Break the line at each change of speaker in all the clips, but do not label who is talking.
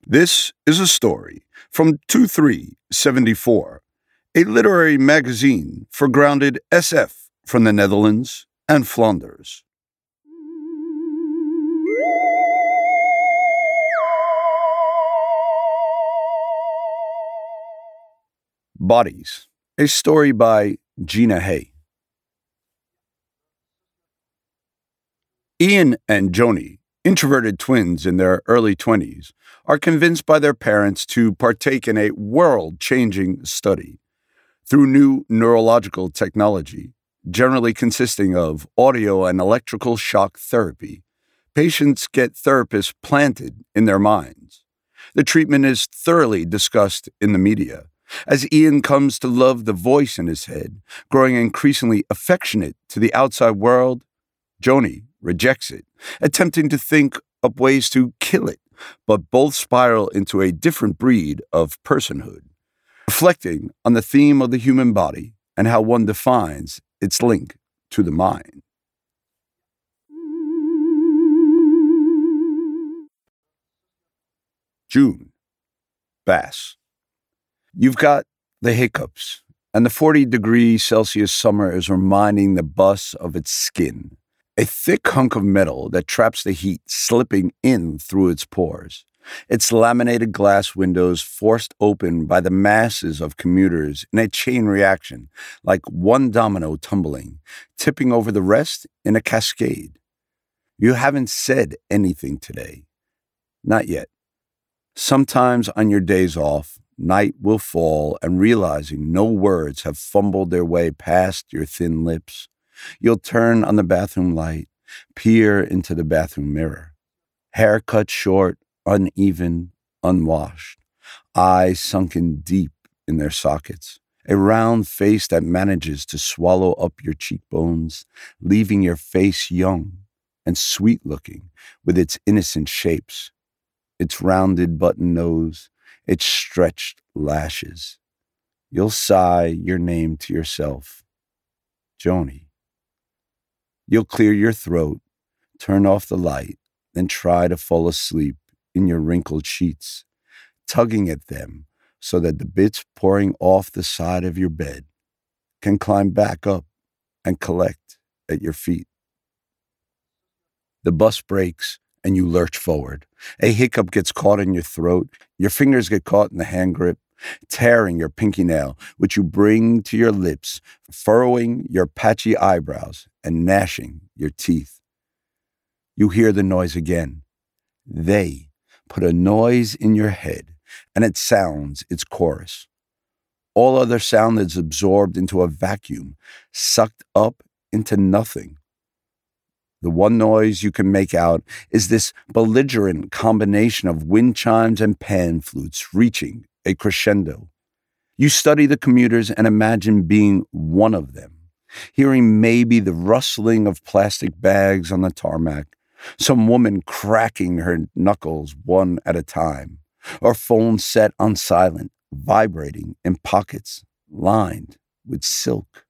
This is a story from 2374, a literary magazine for grounded SF from the Netherlands and Flanders. Bodies, a story by Gina Hay. Ian and Joni, introverted twins in their early 20s, are convinced by their parents to partake in a world-changing study. Through new neurological technology, generally consisting of audio and electrical shock therapy, patients get therapists planted in their minds. The treatment is thoroughly discussed in the media, as Ian comes to love the voice in his head, growing increasingly affectionate to the outside world. Joni rejects it, attempting to think up ways to kill it, but both spiral into a different breed of personhood, reflecting on the theme of the human body and how one defines its link to the mind. June. Bass. You've got the hiccups, and the 40-degree Celsius summer is reminding the bus of its skin. A thick hunk of metal that traps the heat slipping in through its pores. Its laminated glass windows forced open by the masses of commuters in a chain reaction, like one domino tumbling, tipping over the rest in a cascade. You haven't said anything today. Not yet. Sometimes on your days off, night will fall, and realizing no words have fumbled their way past your thin lips, you'll turn on the bathroom light, peer into the bathroom mirror. Hair cut short, uneven, unwashed, eyes sunken deep in their sockets, a round face that manages to swallow up your cheekbones, leaving your face young and sweet-looking with its innocent shapes, its rounded button nose, its stretched lashes. You'll sigh your name to yourself, Joni. You'll clear your throat, turn off the light, then try to fall asleep in your wrinkled sheets, tugging at them so that the bits pouring off the side of your bed can climb back up and collect at your feet. The bus brakes and you lurch forward. A hiccup gets caught in your throat, your fingers get caught in the hand grip, tearing your pinky nail, which you bring to your lips, furrowing your patchy eyebrows and gnashing your teeth. You hear the noise again. They put a noise in your head, and it sounds its chorus. All other sound is absorbed into a vacuum, sucked up into nothing. The one noise you can make out is this belligerent combination of wind chimes and pan flutes reaching a crescendo. You study the commuters and imagine being one of them, hearing maybe the rustling of plastic bags on the tarmac, some woman cracking her knuckles one at a time, or phone set on silent, vibrating in pockets lined with silk.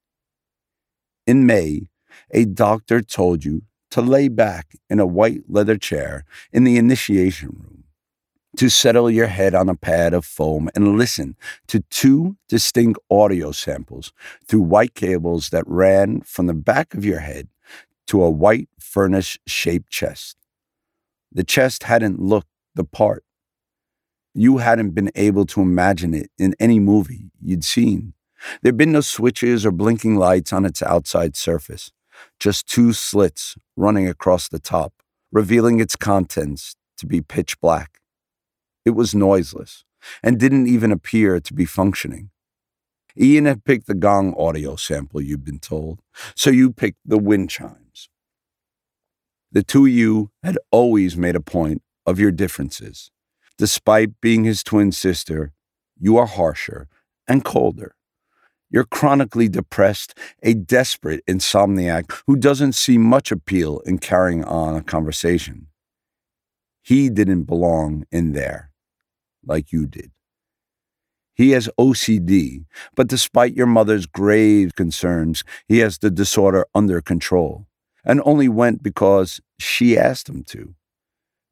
In May, a doctor told you to lay back in a white leather chair in the initiation room, to settle your head on a pad of foam and listen to two distinct audio samples through white cables that ran from the back of your head to a white furnace-shaped chest. The chest hadn't looked the part. You hadn't been able to imagine it in any movie you'd seen. There'd been no switches or blinking lights on its outside surface, just two slits running across the top, revealing its contents to be pitch black. It was noiseless and didn't even appear to be functioning. Ian had picked the gong audio sample you'd been told, so you picked the wind chimes. The two of you had always made a point of your differences. Despite being his twin sister, you are harsher and colder. You're chronically depressed, a desperate insomniac who doesn't see much appeal in carrying on a conversation. He didn't belong in there like you did. He has OCD, but despite your mother's grave concerns, he has the disorder under control, and only went because she asked him to.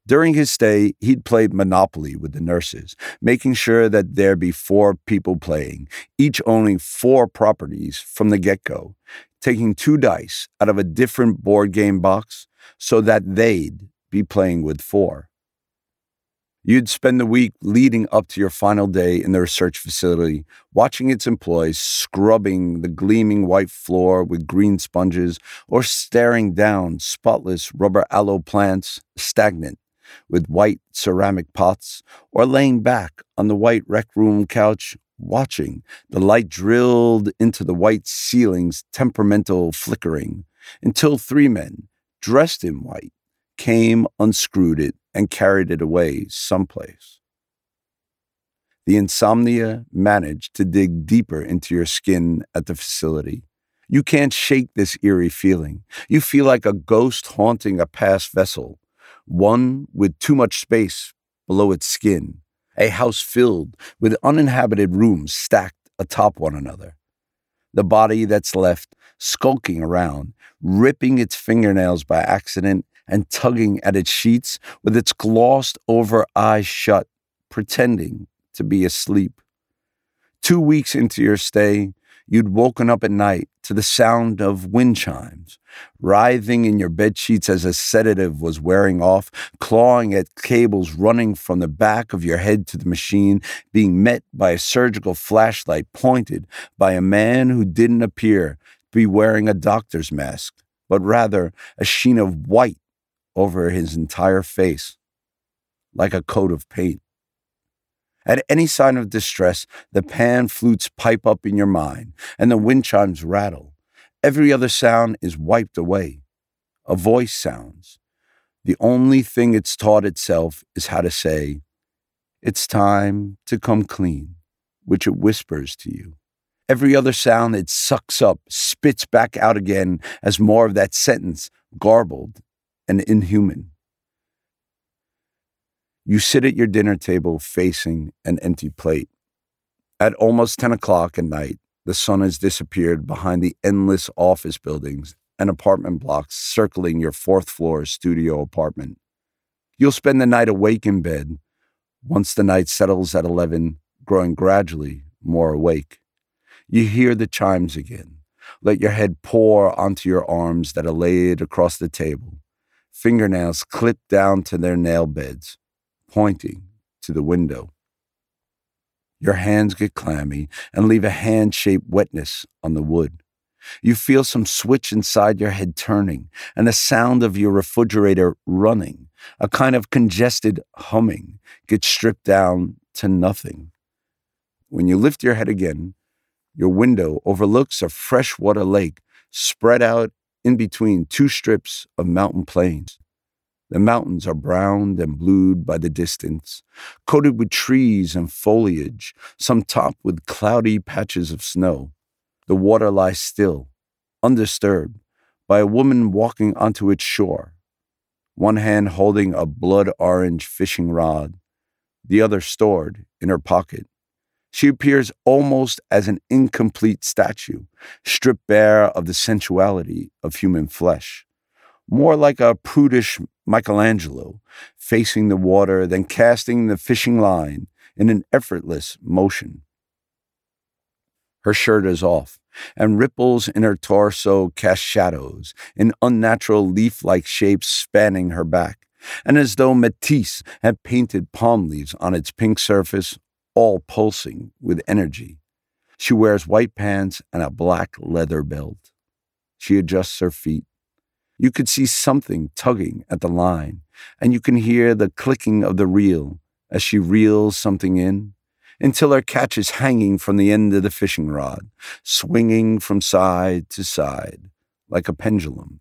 During his stay, he'd played Monopoly with the nurses, making sure that there be 4 people playing, each owning 4 properties from the get-go, taking 2 dice out of a different board game box so that they'd be playing with 4. You'd spend the week leading up to your final day in the research facility, watching its employees scrubbing the gleaming white floor with green sponges or staring down spotless rubber aloe plants stagnant with white ceramic pots, or laying back on the white rec room couch watching the light drilled into the white ceiling's temperamental flickering until 3 men, dressed in white, came, unscrewed it, and carried it away someplace. The insomnia managed to dig deeper into your skin at the facility. You can't shake this eerie feeling. You feel like a ghost haunting a past vessel, one with too much space below its skin, a house filled with uninhabited rooms stacked atop one another. The body that's left skulking around, ripping its fingernails by accident and tugging at its sheets with its glossed-over eyes shut, pretending to be asleep. 2 weeks into your stay, you'd woken up at night to the sound of wind chimes, writhing in your bedsheets as a sedative was wearing off, clawing at cables running from the back of your head to the machine, being met by a surgical flashlight pointed by a man who didn't appear to be wearing a doctor's mask, but rather a sheen of white over his entire face, like a coat of paint. At any sign of distress, the pan flutes pipe up in your mind, and the wind chimes rattle. Every other sound is wiped away. A voice sounds. The only thing it's taught itself is how to say, "It's time to come clean," which it whispers to you. Every other sound it sucks up, spits back out again as more of that sentence, garbled and inhuman. You sit at your dinner table facing an empty plate. At almost 10 o'clock at night, the sun has disappeared behind the endless office buildings and apartment blocks circling your 4th-floor studio apartment. You'll spend the night awake in bed, once the night settles at 11, growing gradually more awake. You hear the chimes again. Let your head pour onto your arms that are laid across the table, fingernails clipped down to their nail beds, pointing to the window. Your hands get clammy and leave a hand-shaped wetness on the wood. You feel some switch inside your head turning and the sound of your refrigerator running, a kind of congested humming, gets stripped down to nothing. When you lift your head again, your window overlooks a freshwater lake spread out in between 2 strips of mountain plains. The mountains are browned and blued by the distance, coated with trees and foliage, some topped with cloudy patches of snow. The water lies still, undisturbed, by a woman walking onto its shore, one hand holding a blood-orange fishing rod, the other stored in her pocket. She appears almost as an incomplete statue, stripped bare of the sensuality of human flesh. More like a prudish Michelangelo, facing the water, then casting the fishing line in an effortless motion. Her shirt is off, and ripples in her torso cast shadows in unnatural leaf-like shapes spanning her back, and as though Matisse had painted palm leaves on its pink surface, all pulsing with energy. She wears white pants and a black leather belt. She adjusts her feet. You could see something tugging at the line, and you can hear the clicking of the reel as she reels something in, until her catch is hanging from the end of the fishing rod, swinging from side to side like a pendulum.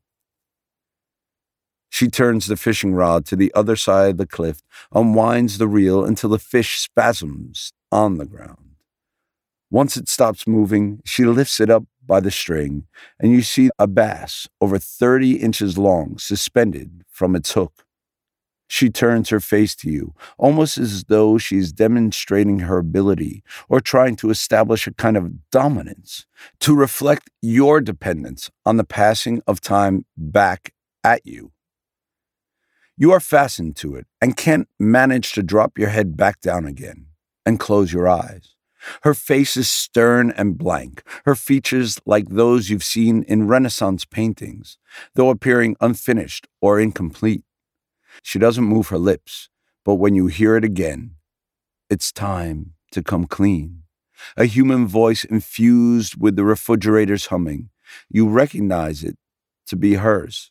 She turns the fishing rod to the other side of the cliff, unwinds the reel until the fish spasms on the ground. Once it stops moving, she lifts it up by the string, and you see a bass over 30 inches long suspended from its hook. She turns her face to you, almost as though she's demonstrating her ability or trying to establish a kind of dominance, to reflect your dependence on the passing of time back at you. You are fastened to it and can't manage to drop your head back down again and close your eyes. Her face is stern and blank, her features like those you've seen in Renaissance paintings, though appearing unfinished or incomplete. She doesn't move her lips, but when you hear it again, it's time to come clean. A human voice infused with the refrigerator's humming. You recognize it to be hers.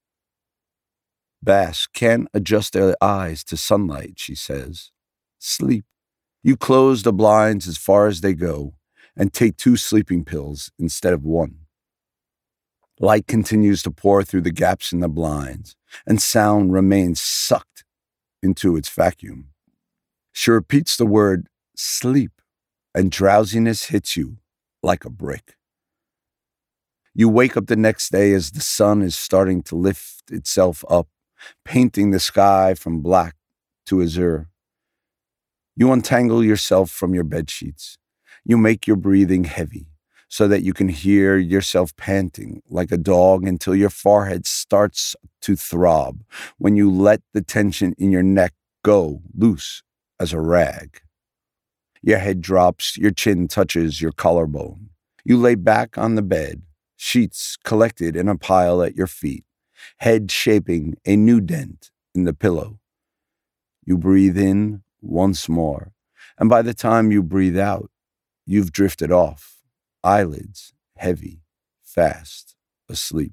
Bass can't adjust their eyes to sunlight, she says. Sleep. You close the blinds as far as they go and take 2 sleeping pills instead of 1. Light continues to pour through the gaps in the blinds, and sound remains sucked into its vacuum. She repeats the word sleep, and drowsiness hits you like a brick. You wake up the next day as the sun is starting to lift itself up, painting the sky from black to azure. You untangle yourself from your bedsheets. You make your breathing heavy so that you can hear yourself panting like a dog until your forehead starts to throb when you let the tension in your neck go loose as a rag. Your head drops, your chin touches your collarbone. You lay back on the bed, sheets collected in a pile at your feet, head shaping a new dent in the pillow. You breathe in once more, and by the time you breathe out, you've drifted off, eyelids heavy, fast, asleep.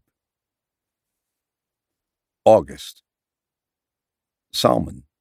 August. Salmon.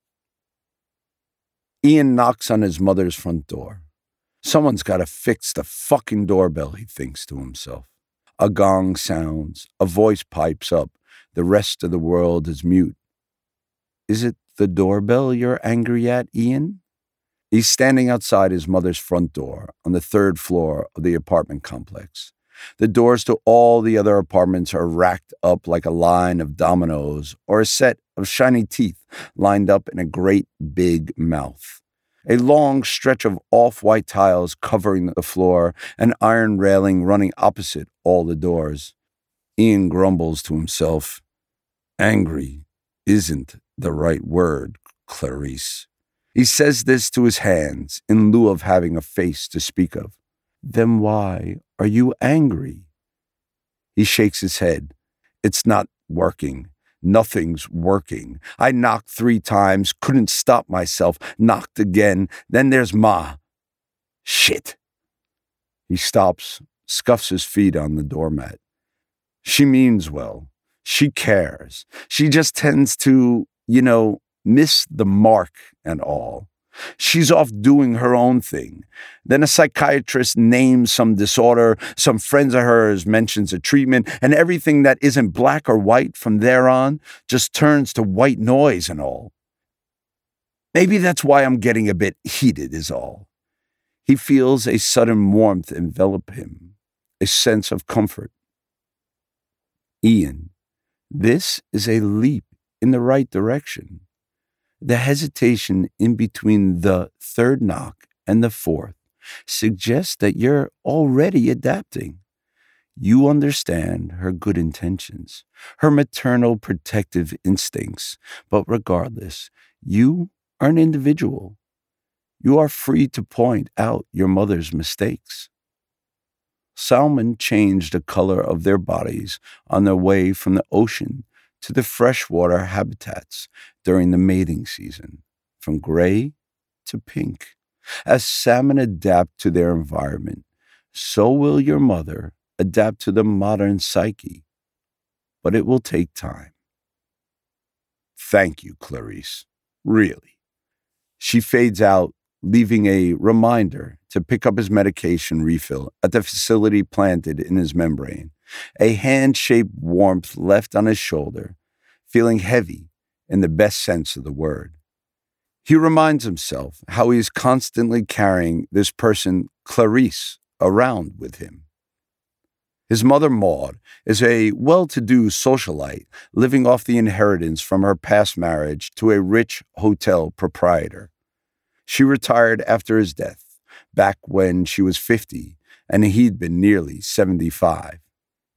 Ian knocks on his mother's front door. Someone's got to fix the fucking doorbell, he thinks to himself. A gong sounds, a voice pipes up, the rest of the world is mute. Is it the doorbell you're angry at, Ian? He's standing outside his mother's front door on the 3rd floor of the apartment complex. The doors to all the other apartments are racked up like a line of dominoes or a set of shiny teeth lined up in a great big mouth. A long stretch of off-white tiles covering the floor, an iron railing running opposite all the doors. Ian grumbles to himself. Angry isn't the right word, Clarice. He says this to his hands in lieu of having a face to speak of. Then why are you angry? He shakes his head. It's not working. Nothing's working. I knocked 3 times, couldn't stop myself, knocked again. Then there's Ma. Shit. He stops, scuffs his feet on the doormat. She means well. She cares. She just tends to, miss the mark and all. She's off doing her own thing. Then a psychiatrist names some disorder, some friends of hers mentions a treatment, and everything that isn't black or white from there on just turns to white noise and all. Maybe that's why I'm getting a bit heated is all. He feels a sudden warmth envelop him, a sense of comfort. Ian, this is a leap in the right direction. The hesitation in between the 3rd knock and the 4th suggests that you're already adapting. You understand her good intentions, her maternal protective instincts, but regardless, you are an individual. You are free to point out your mother's mistakes. Salmon changed the color of their bodies on their way from the ocean to the freshwater habitats during the mating season, from gray to pink. As salmon adapt to their environment, so will your mother adapt to the modern psyche. But it will take time. Thank you, Clarice. Really. She fades out, leaving a reminder to pick up his medication refill at the facility planted in his membrane. A hand-shaped warmth left on his shoulder, feeling heavy in the best sense of the word. He reminds himself how he is constantly carrying this person, Clarice, around with him. His mother, Maud, is a well-to-do socialite living off the inheritance from her past marriage to a rich hotel proprietor. She retired after his death, back when she was 50 and he'd been nearly 75.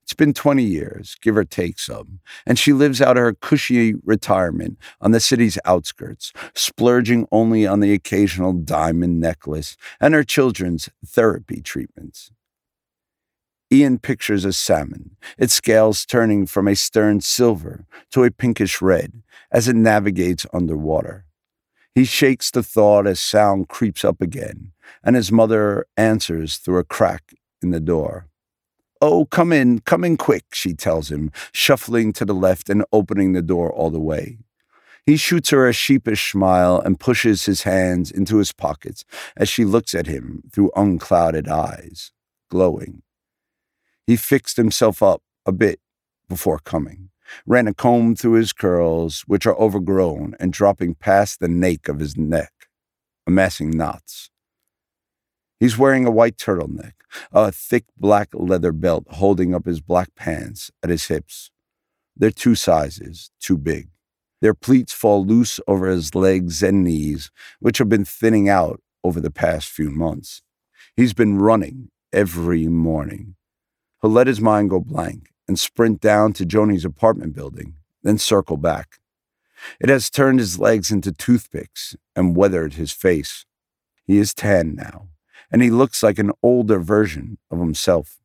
It's been 20 years, give or take some, and she lives out her cushy retirement on the city's outskirts, splurging only on the occasional diamond necklace and her children's therapy treatments. Ian pictures a salmon, its scales turning from a stern silver to a pinkish red as it navigates underwater. He shakes the thought as sound creeps up again, and his mother answers through a crack in the door. "Oh, come in quick," she tells him, shuffling to the left and opening the door all the way. He shoots her a sheepish smile and pushes his hands into his pockets as she looks at him through unclouded eyes, glowing. He fixed himself up a bit before coming, ran a comb through his curls, which are overgrown and dropping past the nape of his neck, amassing knots. He's wearing a white turtleneck, a thick black leather belt holding up his black pants at his hips. They're 2 sizes, too big. Their pleats fall loose over his legs and knees, which have been thinning out over the past few months. He's been running every morning. He'll let his mind go blank and sprint down to Joni's apartment building, then circle back. It has turned his legs into toothpicks and weathered his face. He is tan now, and he looks like an older version of himself.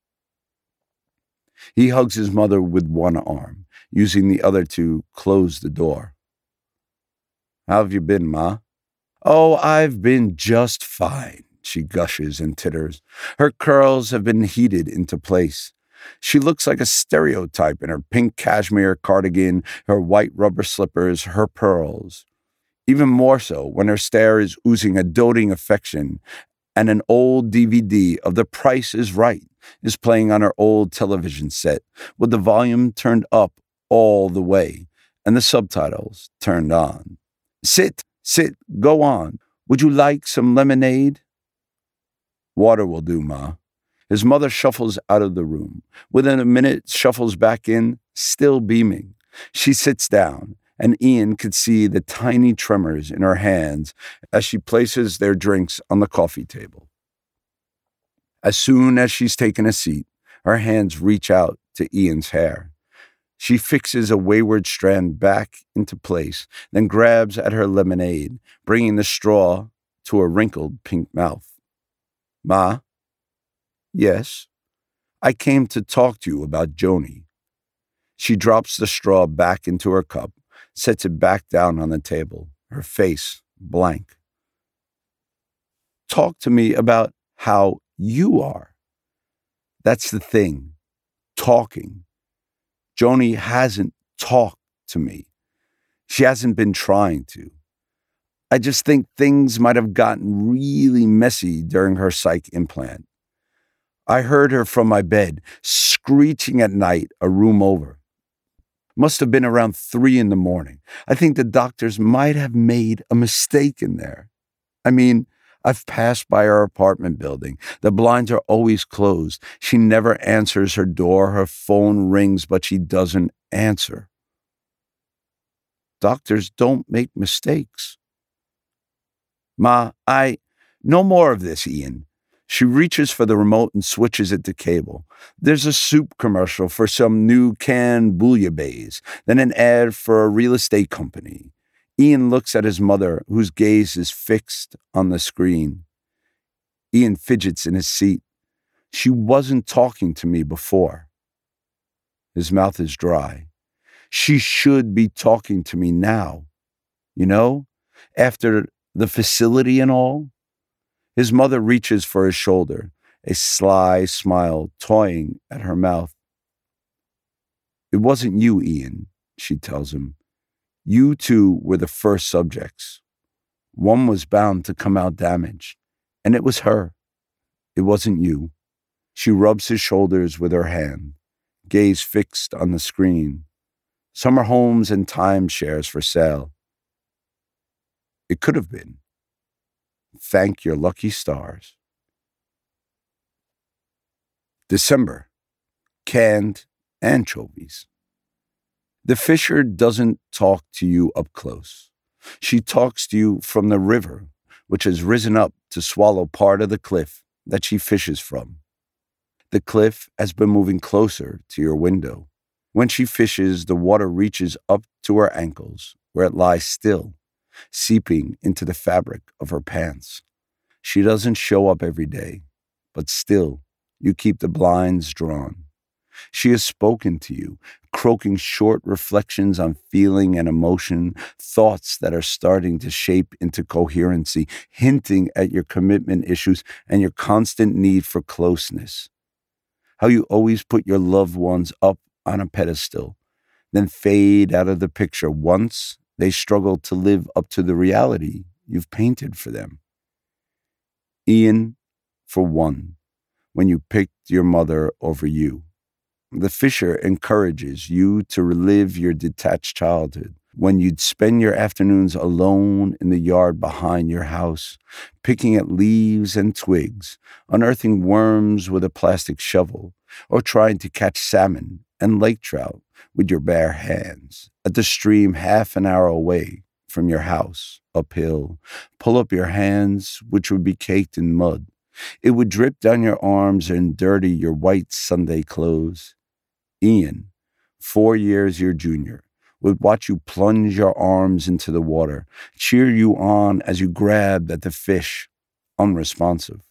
He hugs his mother with one arm, using the other to close the door. "How have you been, Ma?" "Oh, I've been just fine," she gushes and titters. Her curls have been heated into place. She looks like a stereotype in her pink cashmere cardigan, her white rubber slippers, her pearls. Even more so when her stare is oozing a doting affection and an old DVD of The Price is Right is playing on her old television set with the volume turned up all the way and the subtitles turned on. Sit, go on. Would you like some lemonade?" "Water will do, Ma." His mother shuffles out of the room. Within a minute, shuffles back in, still beaming. She sits down, and Ian could see the tiny tremors in her hands as she places their drinks on the coffee table. As soon as she's taken a seat, her hands reach out to Ian's hair. She fixes a wayward strand back into place, then grabs at her lemonade, bringing the straw to a wrinkled pink mouth. "Ma?" "Yes?" "I came to talk to you about Joni." She drops the straw back into her cup, sets it back down on the table, her face blank. "Talk to me about how you are." That's the thing. Talking. Joni hasn't talked to me. She hasn't been trying to. I just think things might have gotten really messy during her psych implant. I heard her from my bed, screeching at night a room over. Must have been around 3 a.m. I think the doctors might have made a mistake in there. I mean, I've passed by her apartment building. The blinds are always closed. She never answers her door. Her phone rings, but she doesn't answer. Doctors don't make mistakes. "Ma, no more of this, Ian." She reaches for the remote and switches it to cable. There's a soup commercial for some new canned bouillabaisse, then an ad for a real estate company. Ian looks at his mother, whose gaze is fixed on the screen. Ian fidgets in his seat. She wasn't talking to me before. His mouth is dry. She should be talking to me now. You know, after the facility and all. His mother reaches for his shoulder, a sly smile toying at her mouth. "It wasn't you, Ian," she tells him. "You two were the first subjects. One was bound to come out damaged, and it was her. It wasn't you." She rubs his shoulders with her hand, gaze fixed on the screen. Summer homes and timeshares for sale. It could have been. Thank your lucky stars. December. Canned anchovies. The fisher doesn't talk to you up close. She talks to you from the river, which has risen up to swallow part of the cliff that she fishes from. The cliff has been moving closer to your window. When she fishes, the water reaches up to her ankles, where it lies still, seeping into the fabric of her pants. She doesn't show up every day, but still, you keep the blinds drawn. She has spoken to you, croaking short reflections on feeling and emotion, thoughts that are starting to shape into coherency, hinting at your commitment issues and your constant need for closeness. How you always put your loved ones up on a pedestal, then fade out of the picture once they struggle to live up to the reality you've painted for them. Ian, for one, when you picked your mother over you. The Fisher encourages you to relive your detached childhood when you'd spend your afternoons alone in the yard behind your house, picking at leaves and twigs, unearthing worms with a plastic shovel, or trying to catch salmon and lake trout with your bare hands at the stream half an hour away from your house, uphill. Pull up your hands, which would be caked in mud. It would drip down your arms and dirty your white Sunday clothes. Ian, 4 years your junior, would watch you plunge your arms into the water, cheer you on as you grabbed at the fish, unresponsive.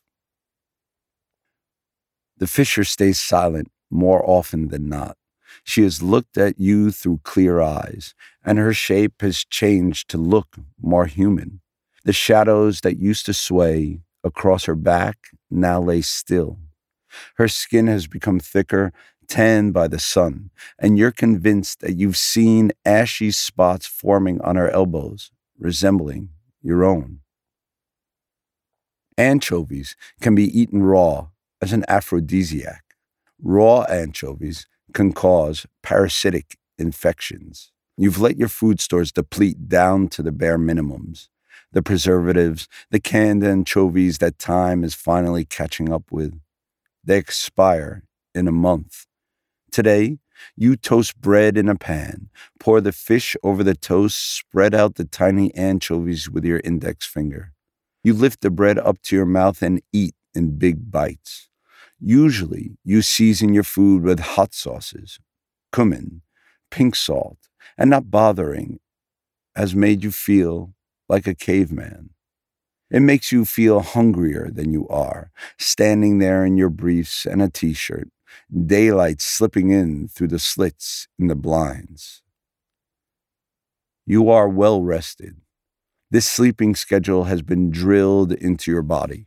The Fisher stays silent more often than not. She has looked at you through clear eyes, and her shape has changed to look more human. The shadows that used to sway across her back now lay still. Her skin has become thicker, tanned by the sun, and you're convinced that you've seen ashy spots forming on her elbows, resembling your own. Anchovies can be eaten raw as an aphrodisiac. Raw anchovies can cause parasitic infections. You've let your food stores deplete down to the bare minimums. The preservatives, the canned anchovies that time is finally catching up with. They expire in a month. Today, you toast bread in a pan, pour the fish over the toast, spread out the tiny anchovies with your index finger. You lift the bread up to your mouth and eat in big bites. Usually, you season your food with hot sauces, cumin, pink salt, and not bothering has made you feel like a caveman. It makes you feel hungrier than you are, standing there in your briefs and a t-shirt, daylight slipping in through the slits in the blinds. You are well rested. This sleeping schedule has been drilled into your body.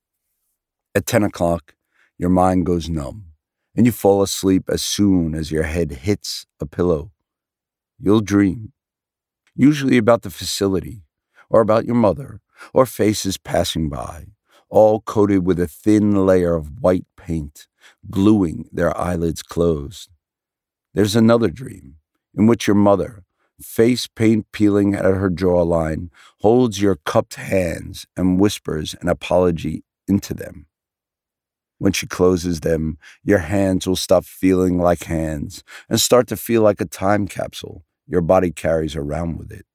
At 10 o'clock, your mind goes numb, and you fall asleep as soon as your head hits a pillow. You'll dream, usually about the facility, or about your mother, or faces passing by, all coated with a thin layer of white paint, gluing their eyelids closed. There's another dream, in which your mother, face paint peeling at her jawline, holds your cupped hands and whispers an apology into them. When she closes them, your hands will stop feeling like hands and start to feel like a time capsule your body carries around with it.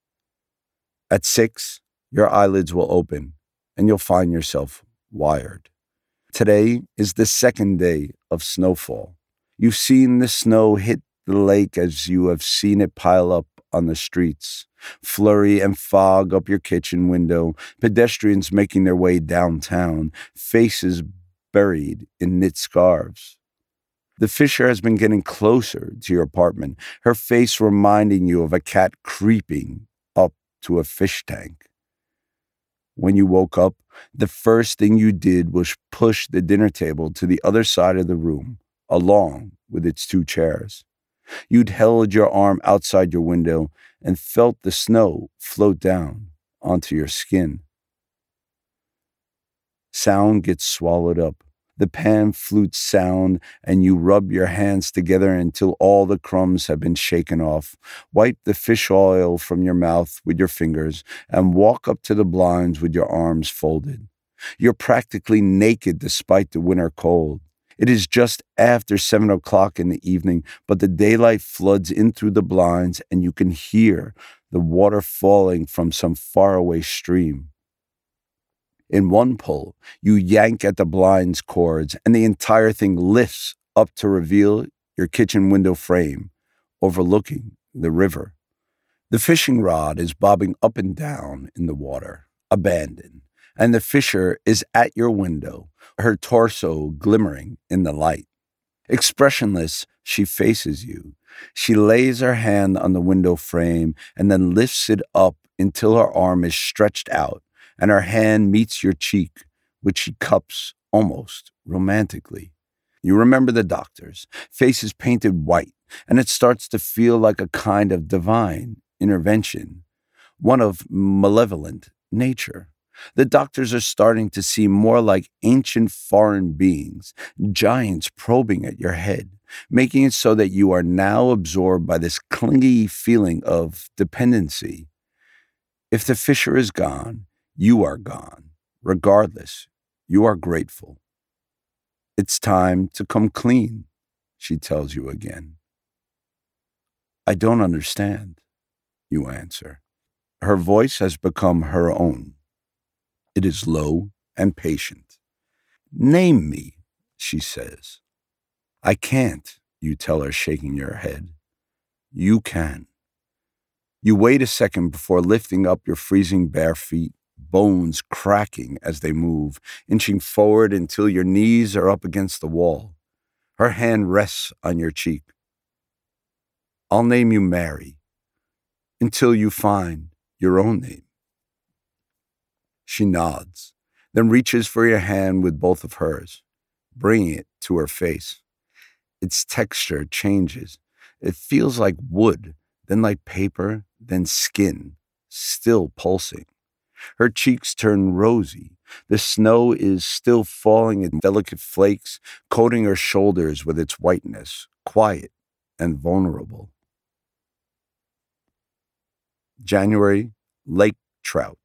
At 6, your eyelids will open and you'll find yourself wired. Today is the second day of snowfall. You've seen the snow hit the lake as you have seen it pile up on the streets, flurry and fog up your kitchen window, pedestrians making their way downtown, faces buried in knit scarves. The Fisher has been getting closer to your apartment, her face reminding you of a cat creeping up to a fish tank. When you woke up, the first thing you did was push the dinner table to the other side of the room, along with its 2 chairs. You'd held your arm outside your window and felt the snow float down onto your skin. Sound gets swallowed up. The pan flutes sound, and you rub your hands together until all the crumbs have been shaken off. Wipe the fish oil from your mouth with your fingers and walk up to the blinds with your arms folded. You're practically naked despite the winter cold. It is just after 7 o'clock in the evening, but the daylight floods in through the blinds and you can hear the water falling from some faraway stream. In one pull, you yank at the blind's cords, and the entire thing lifts up to reveal your kitchen window frame, overlooking the river. The fishing rod is bobbing up and down in the water, abandoned, and the fisher is at your window, her torso glimmering in the light. Expressionless, she faces you. She lays her hand on the window frame and then lifts it up until her arm is stretched out and her hand meets your cheek, which she cups almost romantically. You remember the doctors, faces painted white, and it starts to feel like a kind of divine intervention, one of malevolent nature. The doctors are starting to seem more like ancient foreign beings, giants probing at your head, making it so that you are now absorbed by this clingy feeling of dependency. If the fisher is gone, you are gone. Regardless, you are grateful. It's time to come clean, she tells you again. I don't understand, you answer. Her voice has become her own. It is low and patient. Name me, she says. I can't, you tell her, shaking your head. You can. You wait a second before lifting up your freezing bare feet, bones cracking as they move, inching forward until your knees are up against the wall. Her hand rests on your cheek. I'll name you Mary until you find your own name. She nods, then reaches for your hand with both of hers, bringing it to her face. Its texture changes. It feels like wood, then like paper, then skin, still pulsing. Her cheeks turn rosy. The snow is still falling in delicate flakes, coating her shoulders with its whiteness, quiet and vulnerable. January, lake trout.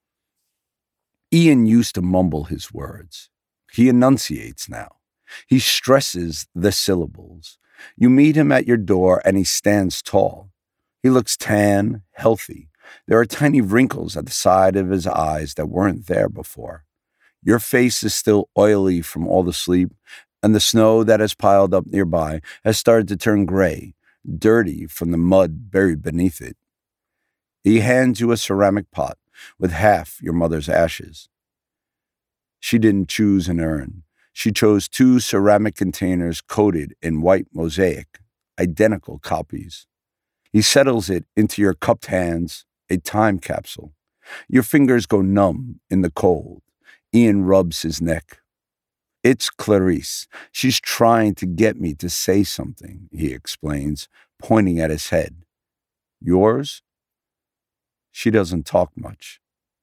Ian used to mumble his words. He enunciates now. He stresses the syllables. You meet him at your door and he stands tall. He looks tan, healthy. There are tiny wrinkles at the side of his eyes that weren't there before. Your face is still oily from all the sleep, and the snow that has piled up nearby has started to turn gray, dirty from the mud buried beneath it. He hands you a ceramic pot with half your mother's ashes. She didn't choose an urn. She chose 2 ceramic containers coated in white mosaic, identical copies. He settles it into your cupped hands, a time capsule. Your fingers go numb in the cold. Ian rubs his neck. It's Clarice. She's trying to get me to say something, he explains, pointing at his head. Yours? She doesn't talk much.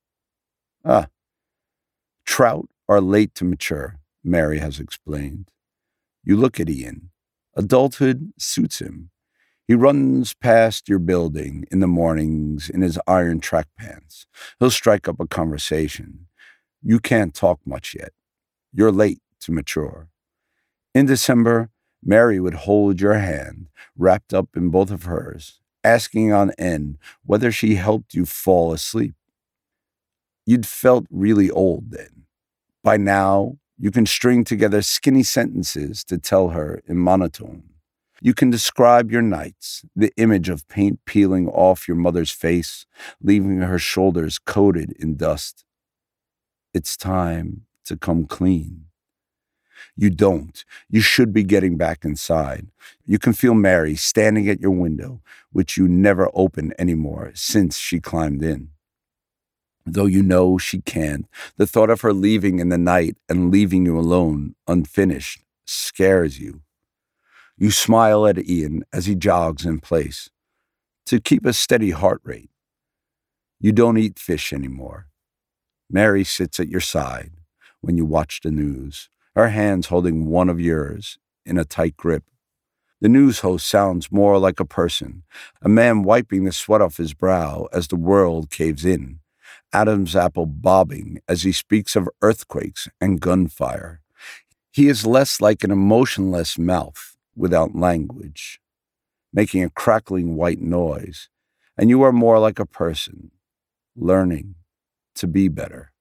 Trout are late to mature, Mary has explained. You look at Ian. Adulthood suits him. He runs past your building in the mornings in his iron track pants. He'll strike up a conversation. You can't talk much yet. You're late to mature. In December, Mary would hold your hand, wrapped up in both of hers, asking on end whether she helped you fall asleep. You'd felt really old then. By now, you can string together skinny sentences to tell her in monotone. You can describe your nights, the image of paint peeling off your mother's face, leaving her shoulders coated in dust. It's time to come clean. You don't. You should be getting back inside. You can feel Mary standing at your window, which you never open anymore since she climbed in. Though you know she can't, the thought of her leaving in the night and leaving you alone, unfinished, scares you. You smile at Ian as he jogs in place. To keep a steady heart rate. You don't eat fish anymore. Mary sits at your side when you watch the news, her hands holding one of yours in a tight grip. The news host sounds more like a person, a man wiping the sweat off his brow as the world caves in. Adam's apple bobbing as he speaks of earthquakes and gunfire. He is less like an emotionless mouth without language, making a crackling white noise, and you are more like a person, learning to be better.